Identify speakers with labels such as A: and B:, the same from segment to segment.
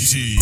A: DT.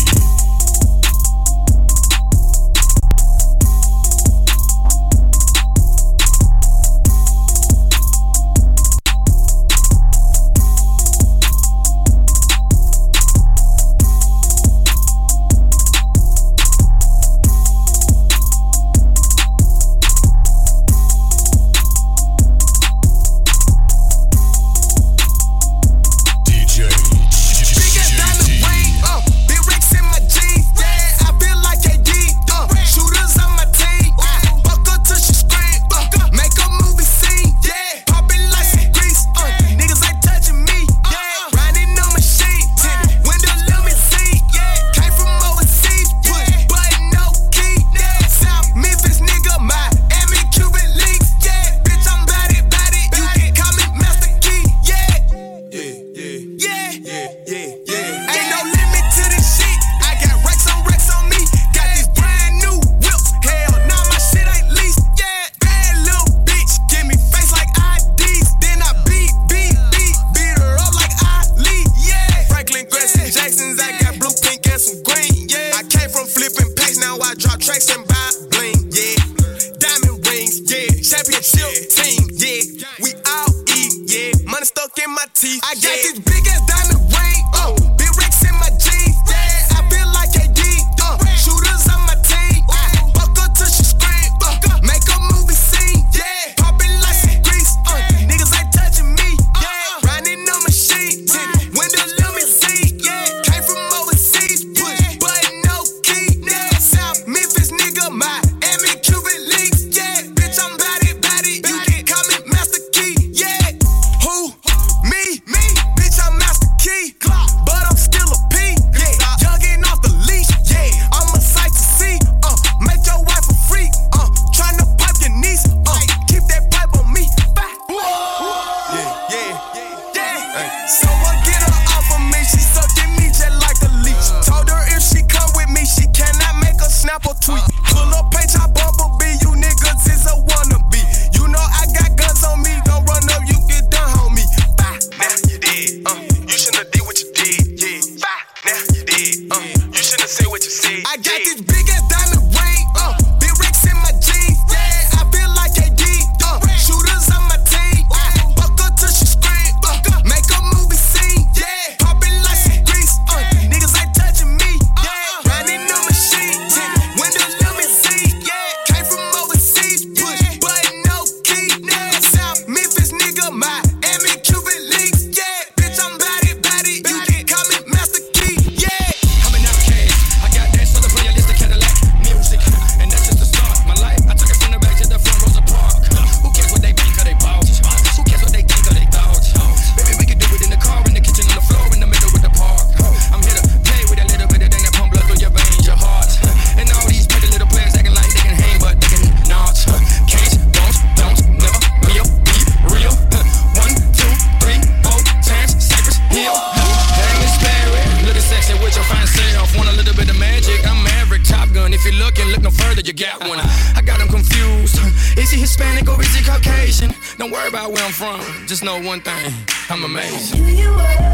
B: Just know one thing, I'm amazing.
C: Here you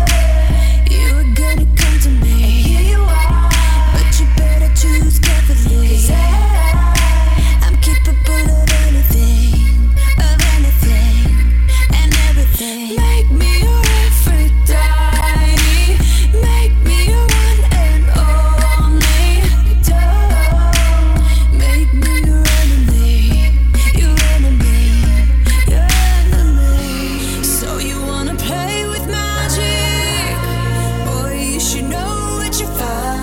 C: were gonna come to me. Here you are, but you better choose carefully. 'Cause I'm capable of anything, and everything. Make me your Aphrodite, make me your one and only. Don't make me your enemy, your enemy. So you wanna play with magic? Boy, you should know what you're for.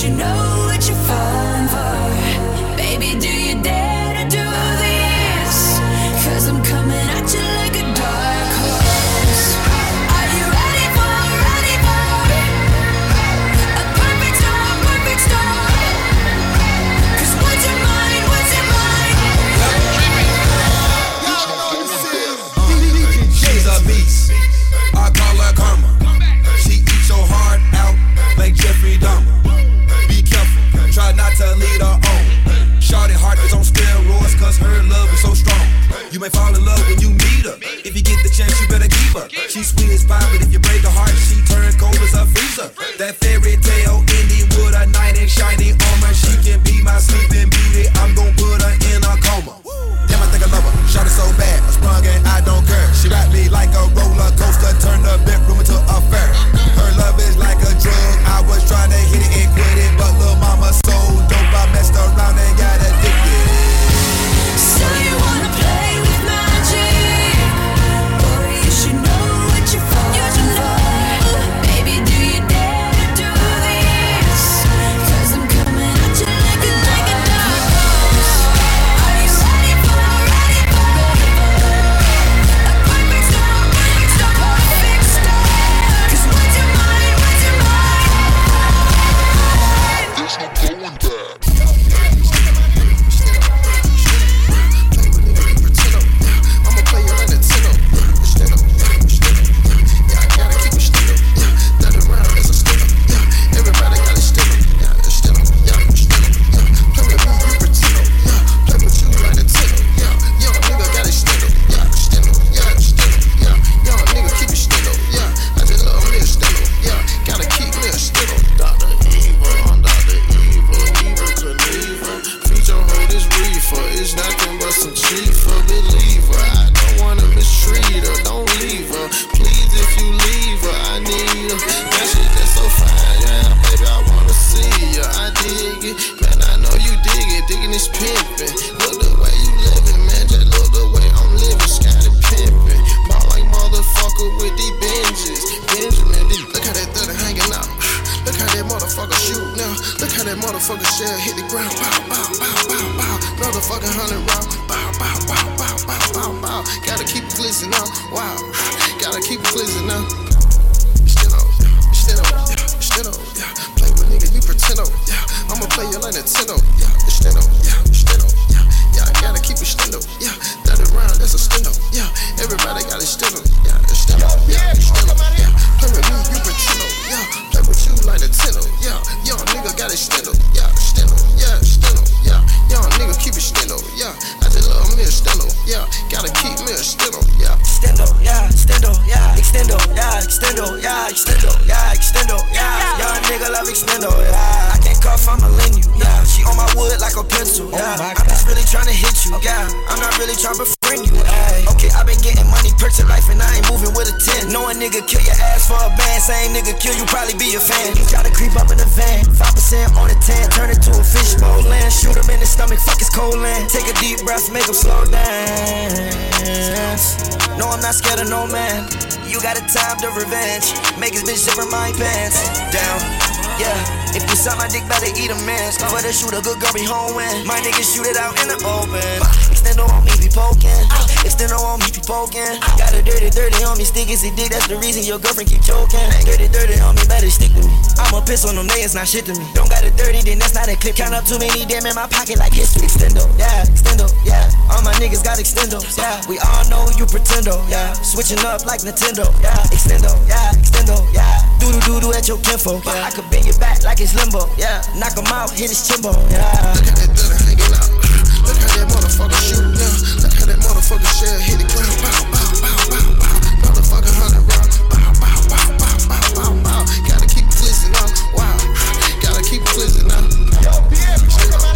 C: should know what you're falling for. Baby, do you dare to do this? 'Cause I'm coming at you like a dark horse. Are you ready for a perfect storm? 'Cause what's your mind?
A: She's a beast, I call her karma. She eats your heart out like Jeffrey Dahmer. Be careful, try not to lead her on. Shorty heart is on steroids, 'cause her love is so strong. You may fall in love when you meet her. If you get the chance, you better keep her. She's sweet as pie, but if you break her heart, she turns cold as a freezer. That fairy tale ending with a knight in shiny armor. She can be my sleeping beauty, I'm gon' put her in a coma. Damn, I think I love her. Shot it so bad, I sprung and I don't care. She wrapped me like a roller coaster, turned the bedroom into a fair. Her love is like a drug. I was trying to hit it and quit it, but lil' mama so dope, I messed around and got addicted.
C: So you wanna play with magic? Boy, you should know what you're falling for. Baby, do you dare to do this? 'Cause I'm coming at you like a dark horse. Are you ready for a perfect storm? 'Cause what's your mind?
D: There's no going back. I'ma play you like Nintendo. Stand up, yeah, I gotta keep it stand up. Yeah, that around as a stand up. Yeah, everybody gotta stand up. Yeah, stand up, yeah, stand up. Yeah, play with me, you pretend up. Yeah, play with you like Nintendo. Yeah, young nigga gotta stand up. Yeah, stand up, yeah, stand up. Yeah, young nigga keep it stand up. Yeah, I just love me a stand up. Yeah, gotta keep me a stand up. Dr. Evil, I'm Dr. Evil, Evil Knievel. Feature hold this reefer, it's nothing but some cheaper. Believer, I don't wanna mistreat her, don't leave her. Please, if you leave her, I need her. That shit that's so fine, yeah, baby, I wanna see ya. I dig it, man, I know you dig it, digging this pimpin'. Look the way you living, man, just look the way I'm living, Scotty pimpin'. Ball like motherfucker with these binges. Benjamin, look how that third hanging out. Look how that motherfucker shoot now. Look how that motherfucker shell hit the ground. Bow, bow, bow, bow, bow. Motherfucking 100 round. Bow, bow, bow, bow, bow, bow, bow. Gotta keep it glistening now. Wow. Gotta keep it glistening now. Stand up, yeah. Play with nigga, you pretend up, yeah. I'ma play you like Nintendo, yeah. Stand up, yeah. Yeah, I gotta keep it stand up, yeah. That around, that's a stand up, yeah. Everybody gotta stand up, yeah. Stand up, yeah. Yeah. Play with me, you pretend up, yeah. Play with you like Nintendo, yeah. Young nigga gotta stand up, yeah. Stand up, yeah. Young nigga keep it stand up, yeah. I just love me a stand up, yeah. Gotta keep me a stand up, yeah.
E: Extendo, yeah, extendo, yeah, extendo, yeah, extendo, yeah, extendo, yeah, extendo, yeah. Young nigga love extendo, yeah. I can't cuff, I'ma lend you, yeah. She on my wood like a pencil, yeah. I'm just really tryna hit you, yeah. I'm not really tryna befriend you, yeah. Okay, I been getting money, perks in life, and I ain't moving with a 10. Know a nigga kill your ass for a band, same nigga kill you, probably be a fan. He try to creep up in the van, 5% on the 10, turn it to a fishbowl land. Shoot him in the stomach, fuck his cold land. Take a deep breath, make him slow dance. No, I'm not scared of no man. You got a time to revenge. Make his bitch zipper my pants down. Yeah, if you suck my dick, better eat a man. Cover the shoot, a good girl be home when my niggas shoot it out in the open. Extendo on me, be poking. Extendo on me, be poking. Got a dirty on me, stick is a dick. That's the reason your girlfriend keep choking. Dirty on me, better stick with me. I'ma piss on them, they it's not shit to me. Don't got it dirty, then that's not a clip. Count up too many damn in my pocket like history. Extendo, yeah. All my niggas got extendos, yeah. We all know you pretendo, yeah. Switching up like Nintendo, yeah. Extendo, yeah. Doodle at your kinfolk, yeah. I could bend your back like it's limbo, yeah. Knock him out, hit his chimbo, yeah.
D: Look how that third hanging out. Look how that motherfucker shoot now. Look how that motherfucker shell hit the ground. Bow, bow, bow, bow, bow. Motherfucker 100 round. Bow, bow, bow, bow, bow, bow, bow. Gotta keep it glistening now. Wow. Gotta keep it glistening now. Stand up.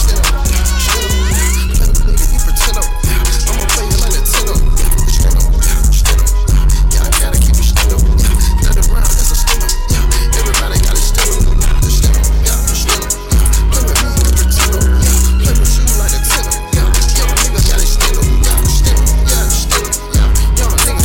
D: Play with nigga, you pretend up. I'ma play you like Nintendo. Stand up. Yeah, I gotta keep it stand up. That around, that's a stand up. Yeah, everybody gotta stand up. Stand up. Yeah, stand up. Play with me, you pretend up. Yeah, play with you like Nintendo. Yeah, young nigga gotta stand up. Yeah, stand up. Yeah, stand up. Yeah, young nigga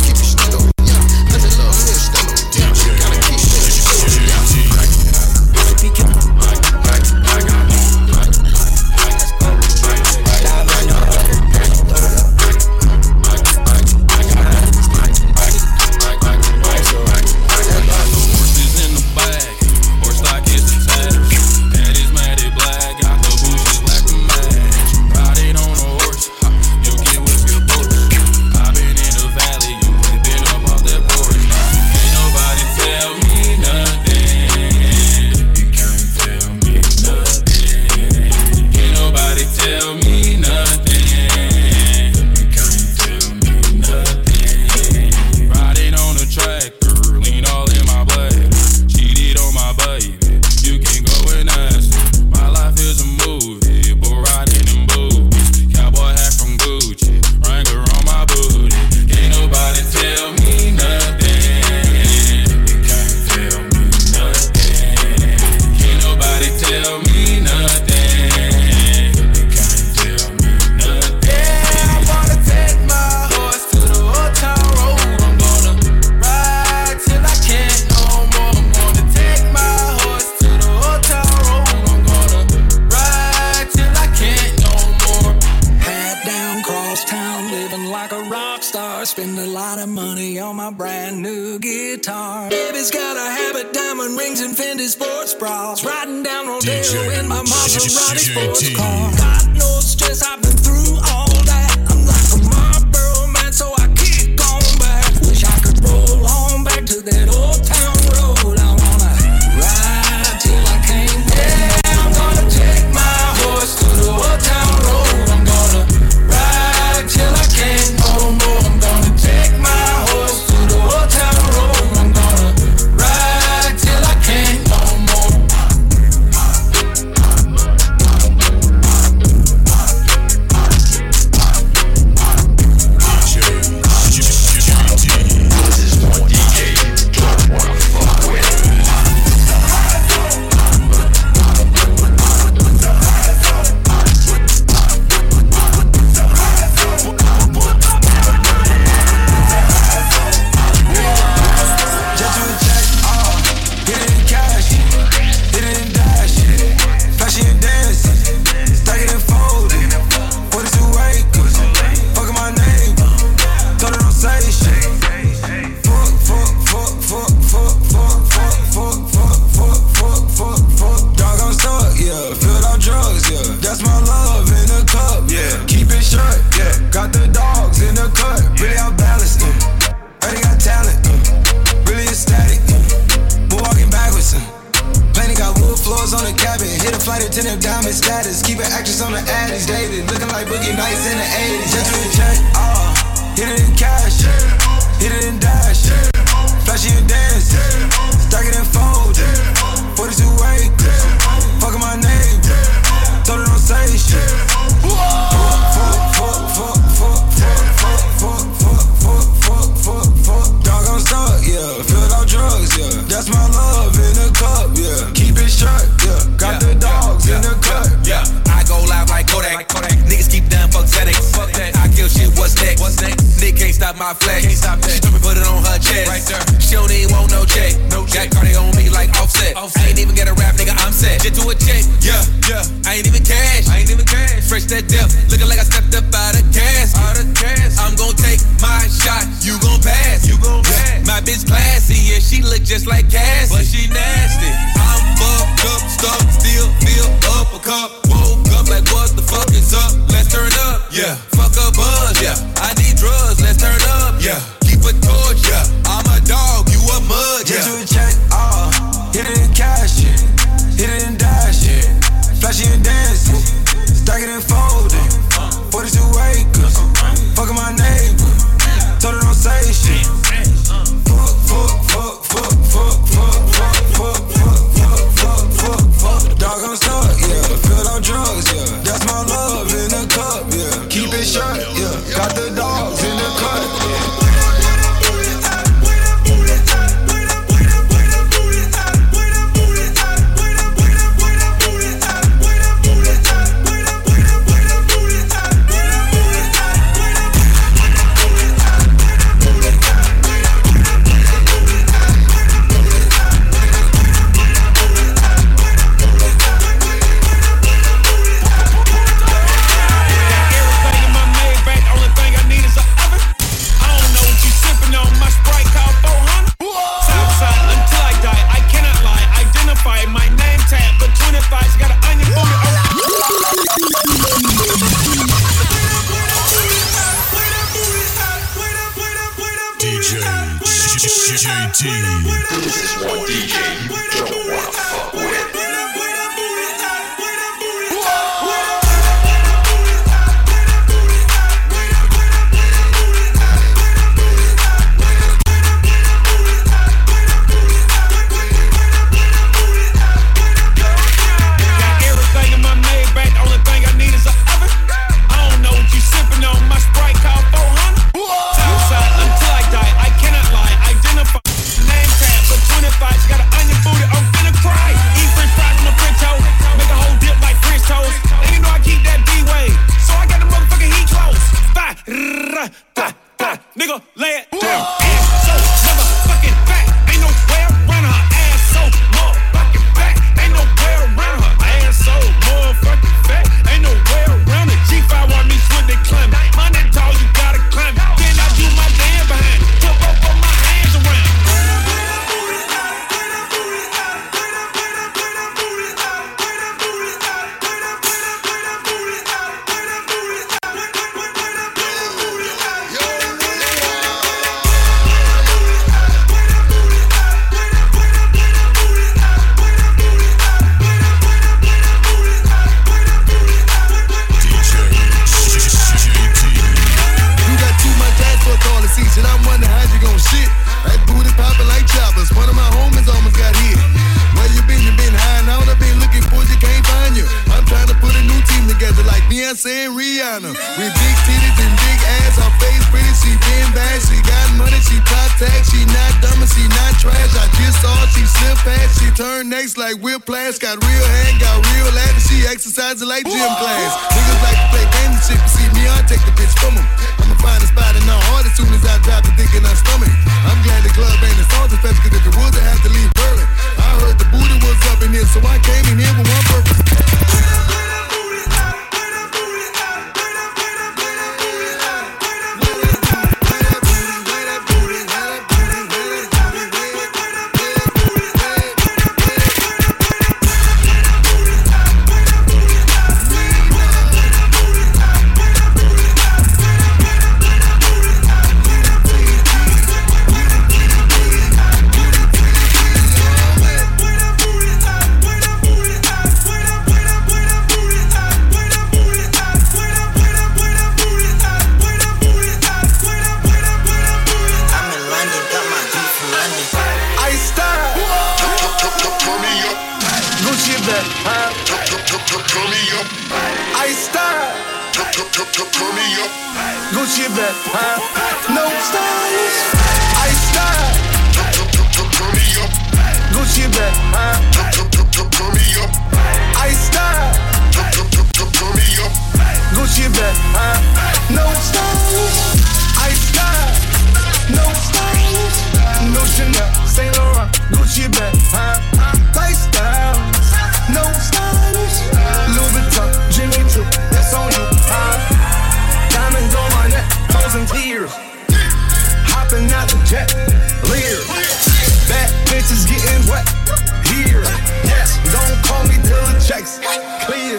F: spend a lot of money on my brand new guitar. Baby's got a habit, diamond rings and Fendi sports bras. Riding down Rodeo in my Maserati sports car. Got no stress, I've been through all that. I'm like a Marlboro man, so I kick on back. Wish I could roll on back to that old town road. I wanna ride till I can't. Yeah, I'm gonna take my horse to the old town road. I'm gonna ride till I can't no more. I'm gonna take my horse to the old town road. I'm gonna ride till I can't no more.
G: Got an onion booty.
A: saying Rihanna. With big titties and big ass, her face pretty, she been bad. She got money, she top tag, she not dumb and she not trash. I just saw her, she slip fast, she turned next like whiplash. Got real hand, got real ass, and she exercising like gym class. Niggas like to play games and shit, but see me, I take the bitch from them. I'ma find a spot in her heart as soon as I drop the dick in her stomach. I'm glad the club ain't as salty fast, cause if it was, I had to leave early. I heard the booty was up in here, so I came in here with one purpose. Gucci bag, no stylish. Ice style. Turn me up. Gucci bag, turn me up. Ice style. Turn me up. Gucci bag, no stylish. Ice style. No stylish. No Chanel, Saint Laurent, Gucci bag, lifestyle. No stylish. Louis Vuitton, Jimmy Choo, that's on you. Diamonds on my neck, frozen tears. Hopping out the jet, leer. Bad bitches getting wet here. Yes, don't call me till the checks clear.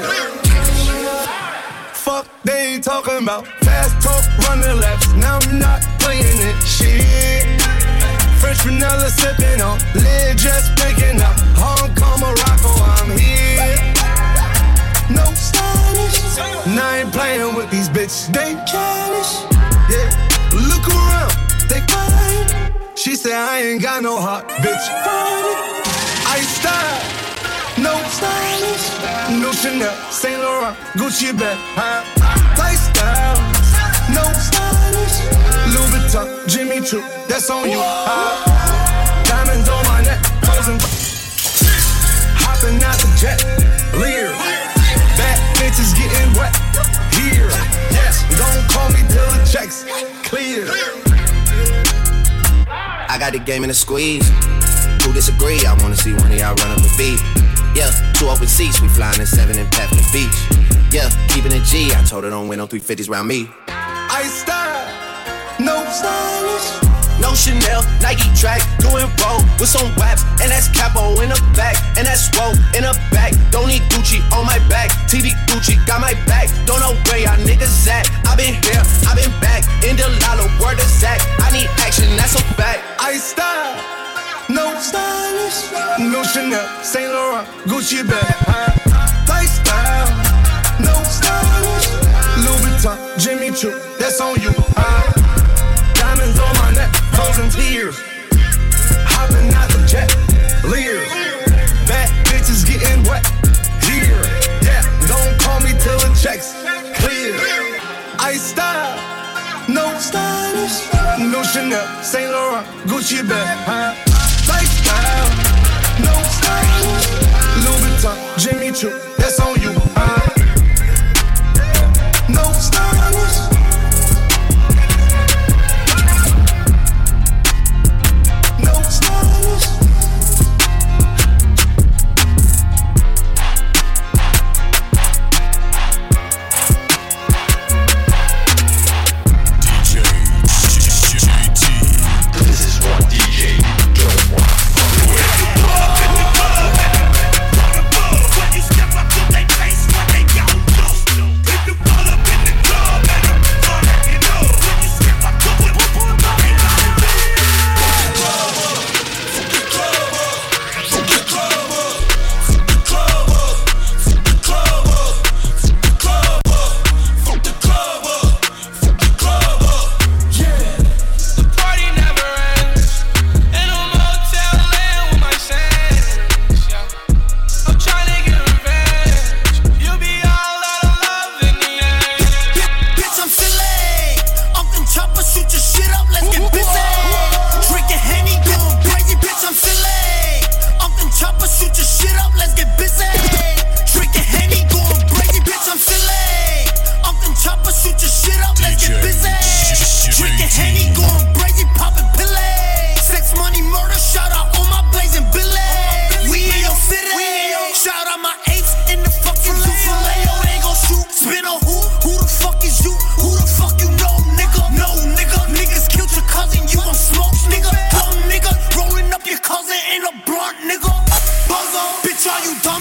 A: Fuck, they ain't talking about fast talk, running laps. Now I'm not playing it, shit. French vanilla sipping on, lid just picking up. Hong Kong, Morocco, I'm here. No stylish. Now I ain't playing with these bitches. They childish. Yeah. Look around. They fine. She said I ain't got no heart, bitch. Ice style. No stylish. No Chanel, Saint Laurent, Gucci bag, lifestyle. No stylish. Louis Vuitton, Jimmy Choo, that's on you. Diamonds on my neck, frozen. Hopping out the jet, leer. Bad bitches getting wet here. Yes, don't call me till the checks clear.
E: I got the game in a squeeze. Who disagree? I wanna see one of y'all run up a beat. Yeah, 2 open seats, we flying in 7 and Pep in the beach. Yeah, keeping it G. I told her don't win no 350s round me.
A: Ice style, no stylish.
E: No Chanel, Nike track, doing roll with some waps, and that's capo in the back, and that's roll in the back. Don't need Gucci on my back, TV Gucci got my back. Don't know where y'all niggas at. I been here, I been back, in the lala, word of Zach. I need action, that's a fact.
A: Ice style, no stylish. No Chanel, Saint Laurent, Gucci bag, lifestyle. No stylish. Louis Vuitton, Jimmy Choo, that's on you. Diamonds on my neck, frozen tears. Hopping out the jet, leer. Bad bitches getting wet here. Yeah, don't call me till the checks clear. Ice style, no stylish. No Chanel, Saint Laurent, Gucci bag, lifestyle. No stylish. Louis Vuitton, Jimmy Choo, that's on you. No stylish.
G: Step up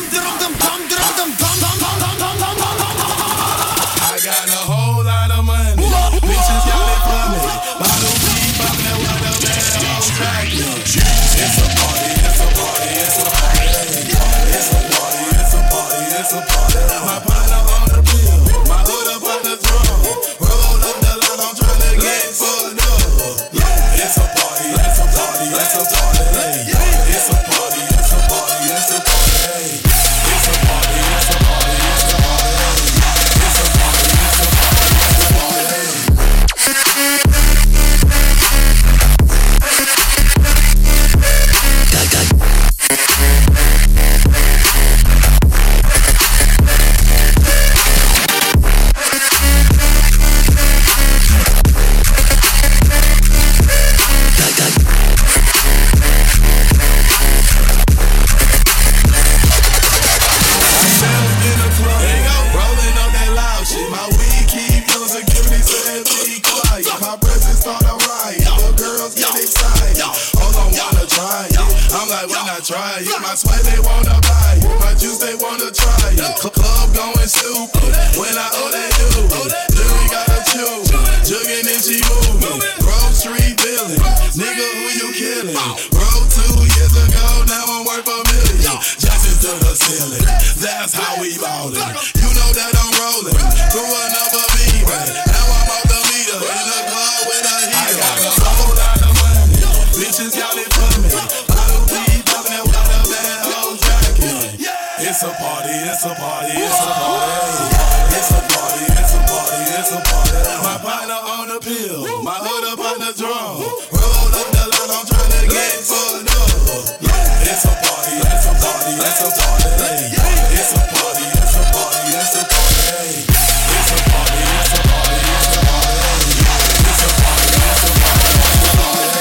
A: I got a whole lot of money. Bitches got it for me. Bottle keep popping that watermelon on track. It's a party, it's a party, it's a party. It's a party, it's a party, it's a party. My partner on the bill, my hood up on the throne. Roll up the line, I'm trying to get fucked up. Yeah, it's a party, it's a party, it's a party. It's a party, it's a party, it's a party. It's a party, it's a party, it's a party. It's a party, it's a party, it's a party. Try it. My sweat they wanna buy it. My juice they wanna try it. Club going stupid when I owe that dude. Jury gotta chew, jugging and she moving. Grocery billing, nigga who you killing? Rolled 2 years ago, now I'm worth $1 million. Jackson to the ceiling, that's how we ballin'. You know that I'm rolling through another beat. Now I'm off the meter in the club with a heater. I got a whole lot of money, bitches got it for me. It's a party, it's a party, it's a party. It's a party, it's a party, it's a party. My partner on the pill, my hood up on the drum. Roll up the line, I'm trying to get fucked up. Yeah, it's a party, it's a party, it's a party. It's a party, it's a party, it's a party. It's a party, it's a party, it's a party. It's a party, it's a party, it's a party.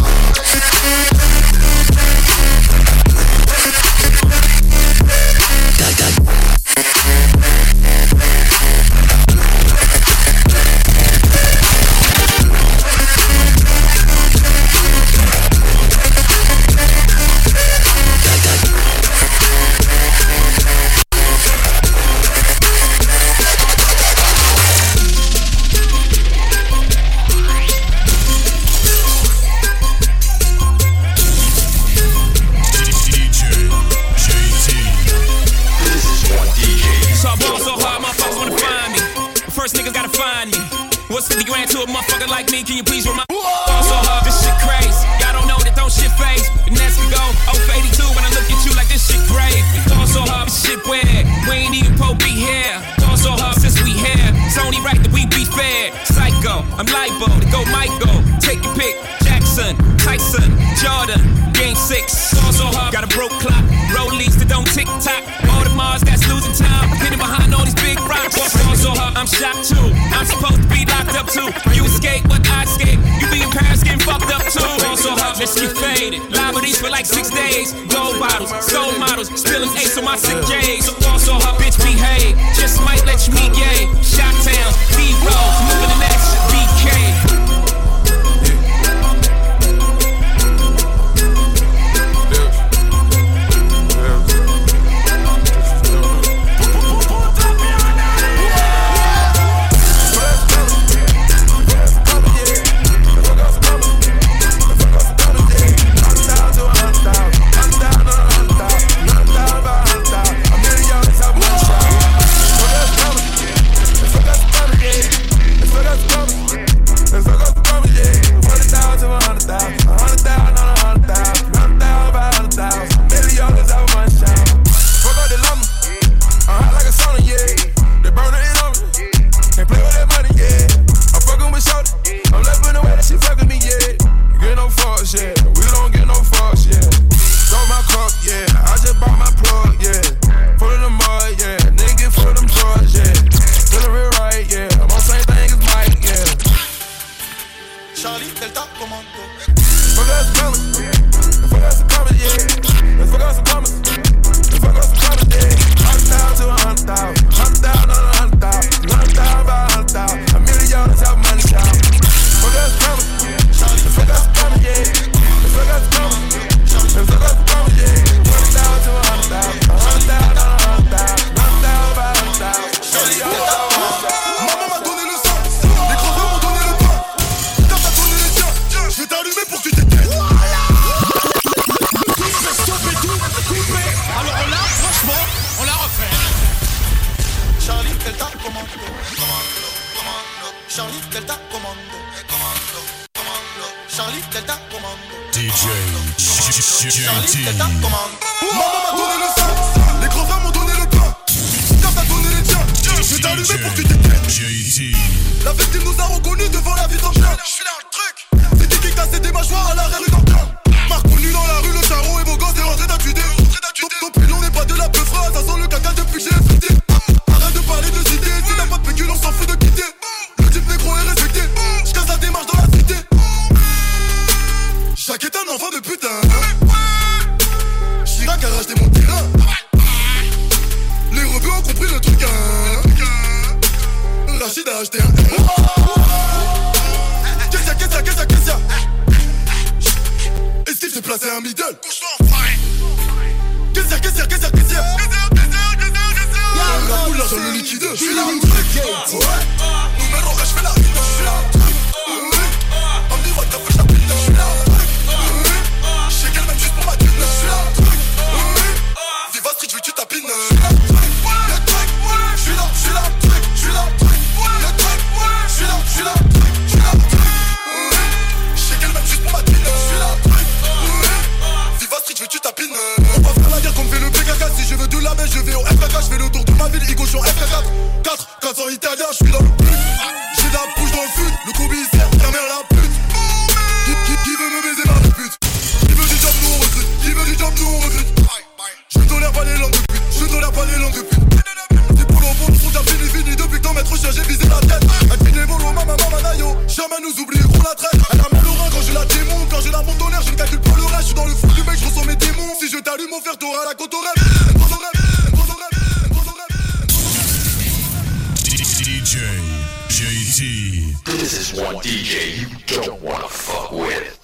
B: What's 50 grand to a motherfucker like me? Can you please remind me? So hard, this shit crazy. Y'all don't know that don't shit phase. And that's to go 0 for 82 when I look at you like this shit brave. Going so hard, this shit weird. We ain't even po be here. Going so hard since we here. It's only right that we be fair. Psycho, I'm libo to go Michael. Take your pick. Jackson, Tyson, Jordan, Game 6. Going so hard, got a broke clock. Rollies that don't tick tock. All the Mars that's losing time. Hidden behind all these big rocks. Going so hard, I'm shocked too. I'm supposed to be locked up too. You escape, but I escape. You be in Paris getting fucked up too. Also hot, let's get faded. Liberties for like 6 days. Gold bottles, soul models, spilling ace on my sick J's. Also hot, bitch, behave. Just might let you meet gay. Shot towns, B-rolls, moving the next BK.
D: commando. Charlie Delta commando. Charlie Delta commando. Charlie Delta commando. Maman m'a donné le sang, les grands frères m'ont donné le pain. Quand t'as donné les tiens, je vais t'allumer pour que tu t'éteignes. La victime nous a reconnus devant la vie d'Antoine. Je suis là le truc. C'est qui cassait des mâchoires à l'arrière rue d'Antoine. M'a reconnu dans la rue, le charron et vos gosses est rentré d'adjuder. Ton pilon n'est pas de la peufra, ça sent le caca depuis que j'ai frité. Arrête de parler de cité, si t'as pas de pécule on s'en fout de quitter. Le type négro est respecté, j'casse la démarche dans la cité. Jacques est un enfant de putain. Chirac a racheté mon terrain. Les rebeux ont compris le truc, hein. Rachid a acheté un Qu'est-ce Esquive s'est placé un middle. Qu'est-ce la poule l'argent le liquide. Je suis là le truc. Numéro je fais la ride. Je suis là le truc. On me dit what the fuck, je t'appelle. Je suis là le truc. Je sais qu'elle m'aime juste pour ma thune. Je suis là le truc. Viva Street, je veux que tu tapines. Je suis là le truc. Je suis là le truc. Je suis là le truc. Je suis là le truc. Je sais qu'elle m'aime juste pour ma thune. Je suis là le truc. Viva Street, je veux que tu tapines. On va faire la guerre comme fait le PKK. Si je veux de la baisse, je vais au FKK. Je fais le tour de ma ville, Igo, je suis en FKK. 400 italiens, je suis dans le but. J'ai de la bouche dans le fut. Le commissaire, ta mère la pute. Qui veut me baiser par le pute? Qui veut du job, nous on recrute. Qui veut du job, nous on recrute. Je tolère pas les langues de pute. Je tolère pas les langues de pute. Tes polos bons sont déjà fini. Depuis que ton maître chien, j'ai visé la tête. Elle finit les bolos, maman, nayo. Jamais nous oublierons la traite. Elle a mal au rein quand je la démonte. Quand je la monte en l'air, je ne calcule pas le reste. Je suis dans le fou du mec, je ressens mes démons. Si je t'allume, mon frère, t'auras la côte au rêve.
G: DJ JT. This is one DJ you don't wanna fuck with.